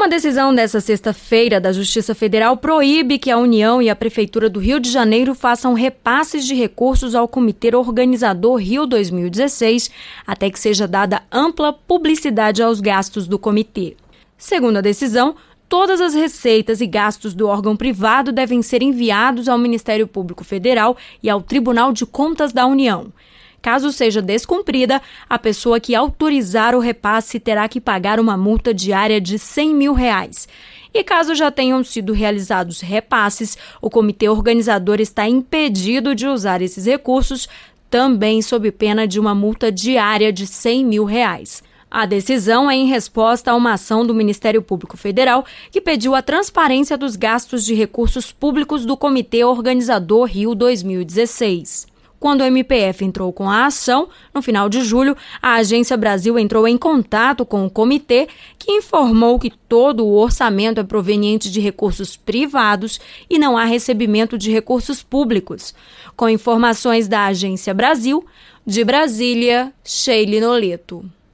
Uma decisão desta sexta-feira da Justiça Federal proíbe que a União e a Prefeitura do Rio de Janeiro façam repasses de recursos ao Comitê Organizador Rio 2016, até que seja dada ampla publicidade aos gastos do comitê. Segundo a decisão, todas as receitas e gastos do órgão privado devem ser enviados ao Ministério Público Federal e ao Tribunal de Contas da União. Caso seja descumprida, a pessoa que autorizar o repasse terá que pagar uma multa diária de R$100 mil. E caso já tenham sido realizados repasses, o comitê organizador está impedido de usar esses recursos, também sob pena de uma multa diária de R$100 mil. A decisão é em resposta a uma ação do Ministério Público Federal que pediu a transparência dos gastos de recursos públicos do Comitê Organizador Rio 2016. Quando o MPF entrou com a ação, no final de julho, a Agência Brasil entrou em contato com o comitê, que informou que todo o orçamento é proveniente de recursos privados e não há recebimento de recursos públicos. Com informações da Agência Brasil, de Brasília, Sheila Noleto.